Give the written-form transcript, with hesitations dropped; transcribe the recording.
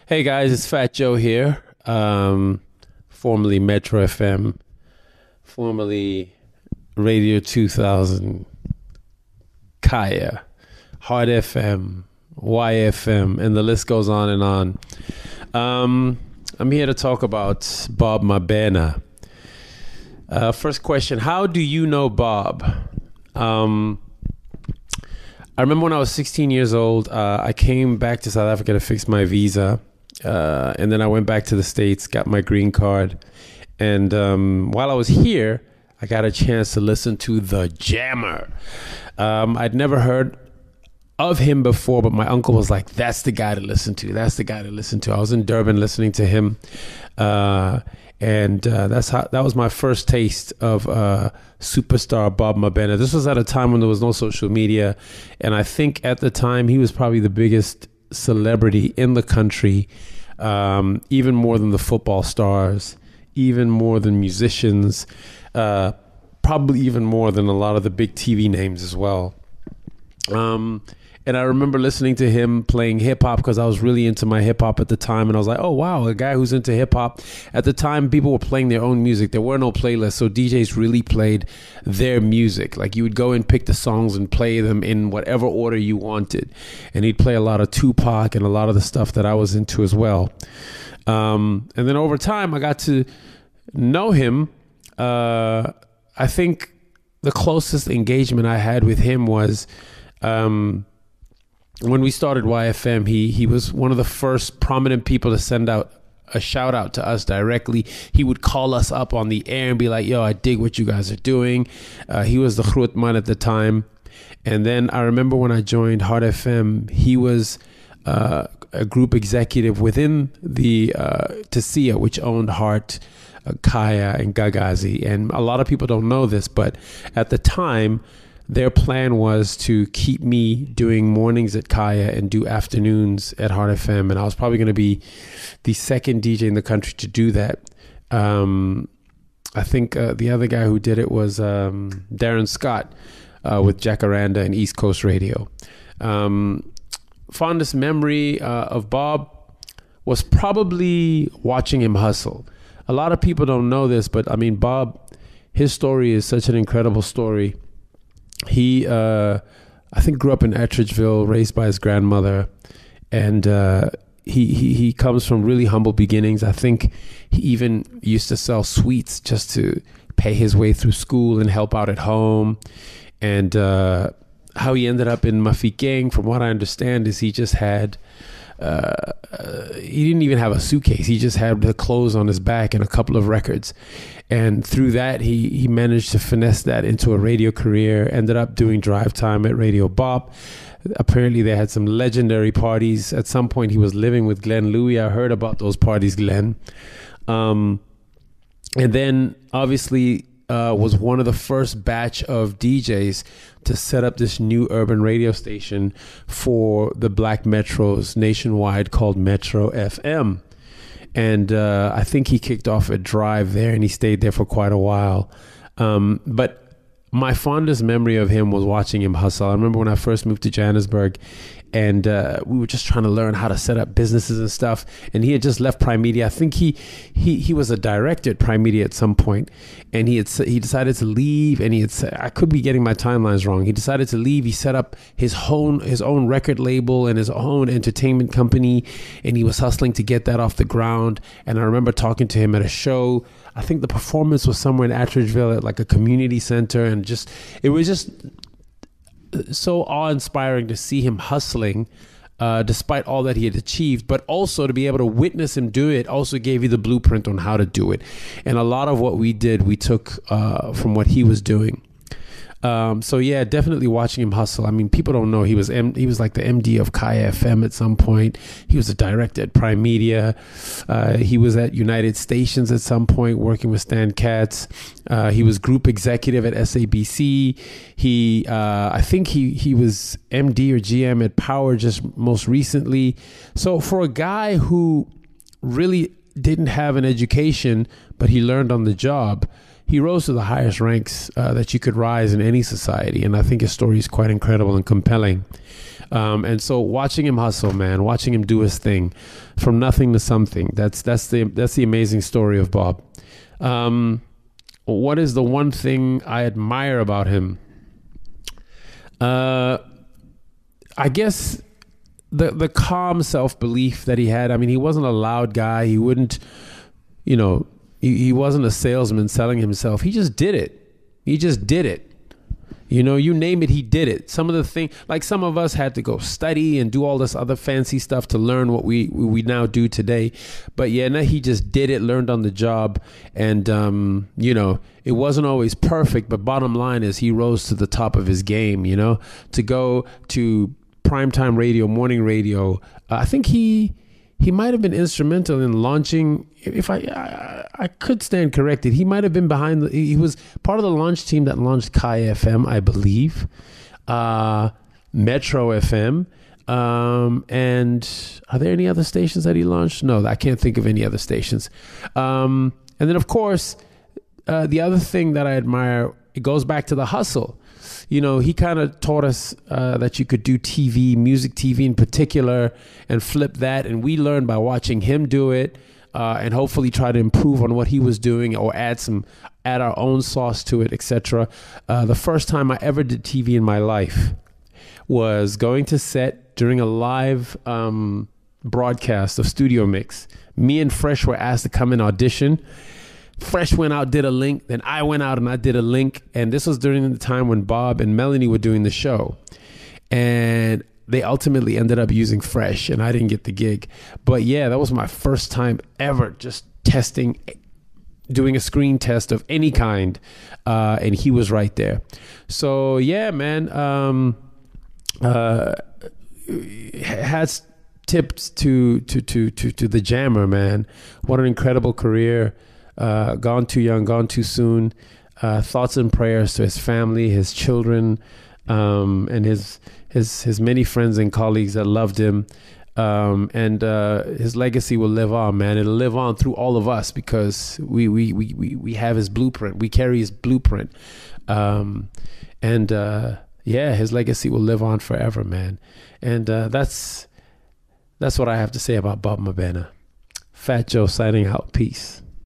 Hey guys, it's Fat Joe here, formerly Metro FM, formerly Radio 2000, Kaya, Hard FM, YFM, and the list goes on and on. I'm here to talk about Bob Mabena. First question, how do you know Bob? I remember when I was 16 years old, I came back to South Africa to fix my visa. And then I went back to the States, got my green card. And while I was here, I got a chance to listen to The Jammer. I'd never heard of him before, but my uncle was like, that's the guy to listen to. That's the guy to listen to. I was in Durban listening to him. And that was my first taste of superstar Bob Mabena. This was at a time when there was no social media. And I think at the time, he was probably the biggest celebrity in the country, even more than the football stars, even more than musicians, probably even more than a lot of the big TV names as well. And I remember listening to him playing hip hop because I was really into my hip hop at the time. And I was like, oh, wow, a guy who's into hip hop. At the time, people were playing their own music. There were no playlists. So DJs really played their music. Like you would go and pick the songs and play them in whatever order you wanted. And he'd play a lot of Tupac and a lot of the stuff that I was into as well. And then over time, I got to know him. I think the closest engagement I had with him was when we started YFM. He was one of the first prominent people to send out a shout out to us directly. He would call us up on the air and be like, yo, I dig what you guys are doing. He was the Grootman at the time. And then I remember when I joined Hard FM, he was a group executive within the Tasia, which owned Heart, Kaya, and Gagazi. And a lot of people don't know this, but at the time, their plan was to keep me doing mornings at Kaya and do afternoons at Hard FM. And I was probably going to be the second DJ in the country to do that. I think the other guy who did it was Darren Scott with Jacaranda and East Coast Radio. Fondest memory of Bob was probably watching him hustle. A lot of people don't know this, but I mean, Bob, his story is such an incredible story. He, I think, grew up in Attridgeville, raised by his grandmother, and he comes from really humble beginnings. I think he even used to sell sweets just to pay his way through school and help out at home. And how he ended up in Mafikeng, from what I understand, is he just had he didn't even have a suitcase. He just had the clothes on his back and a couple of records. And through that, he managed to finesse that into a radio career, ended up doing drive time at Radio Bop. Apparently, they had some legendary parties. At some point, he was living with Glenn Louie. I heard about those parties, Glenn. And then, obviously, was one of the first batch of DJs to set up this new urban radio station for the black metros nationwide called Metro FM. And I think he kicked off a drive there and he stayed there for quite a while. But my fondest memory of him was watching him hustle. I remember when I first moved to Johannesburg and we were just trying to learn how to set up businesses and stuff. And he had just left Prime Media. I think he was a director at Prime Media at some point, and he decided to leave. And I could be getting my timelines wrong. He decided to leave. He set up his own record label and his own entertainment company, and he was hustling to get that off the ground. And I remember talking to him at a show. I think the performance was somewhere in Attridgeville at like a community center, and it was just so awe-inspiring to see him hustling despite all that he had achieved, but also to be able to witness him do it also gave you the blueprint on how to do it. And a lot of what we did, we took from what he was doing. So yeah, definitely watching him hustle. I mean, people don't know he was like the MD of Kaya FM at some point. He was a director at Prime Media. He was at United Stations at some point working with Stan Katz. He was group executive at SABC. I think he was MD or GM at Power just most recently. So for a guy who really didn't have an education, but he learned on the job, he rose to the highest ranks that you could rise in any society. And I think his story is quite incredible and compelling. And so watching him hustle, man, watching him do his thing from nothing to something. That's the amazing story of Bob. What is the one thing I admire about him? I guess the calm self-belief that he had. I mean, he wasn't a loud guy. He wouldn't, he wasn't a salesman selling himself. He just did it. He just did it. You name it, he did it. Some of the things, like some of us had to go study and do all this other fancy stuff to learn what we now do today. But yeah, no, he just did it, learned on the job. And, it wasn't always perfect, but bottom line is he rose to the top of his game, to go to primetime radio, morning radio. I think he might have been instrumental in launching, if I could stand corrected, he might have been he was part of the launch team that launched Kai FM, I believe, Metro FM, and are there any other stations that he launched? No, I can't think of any other stations. And then, of course, the other thing that I admire, it goes back to the hustle. He kind of taught us that you could do TV, music TV in particular, and flip that. And we learned by watching him do it, and hopefully try to improve on what he was doing or add our own sauce to it, etc. The first time I ever did TV in my life was going to set during a live broadcast of Studio Mix. Me and Fresh were asked to come and audition. Fresh went out, did a link. Then I went out and I did a link. And this was during the time when Bob and Melanie were doing the show. And they ultimately ended up using Fresh, and I didn't get the gig. But yeah, that was my first time ever just doing a screen test of any kind. And he was right there. So yeah, man, has tipped to the Jammer, man. What an incredible career. Gone too young, gone too soon. Thoughts and prayers to his family, his children, and his many friends and colleagues that loved him. And his legacy will live on, man. It'll live on through all of us because we have his blueprint. We carry his blueprint. His legacy will live on forever, man. And that's what I have to say about Bob Mabena. Fat Joe signing out. Peace.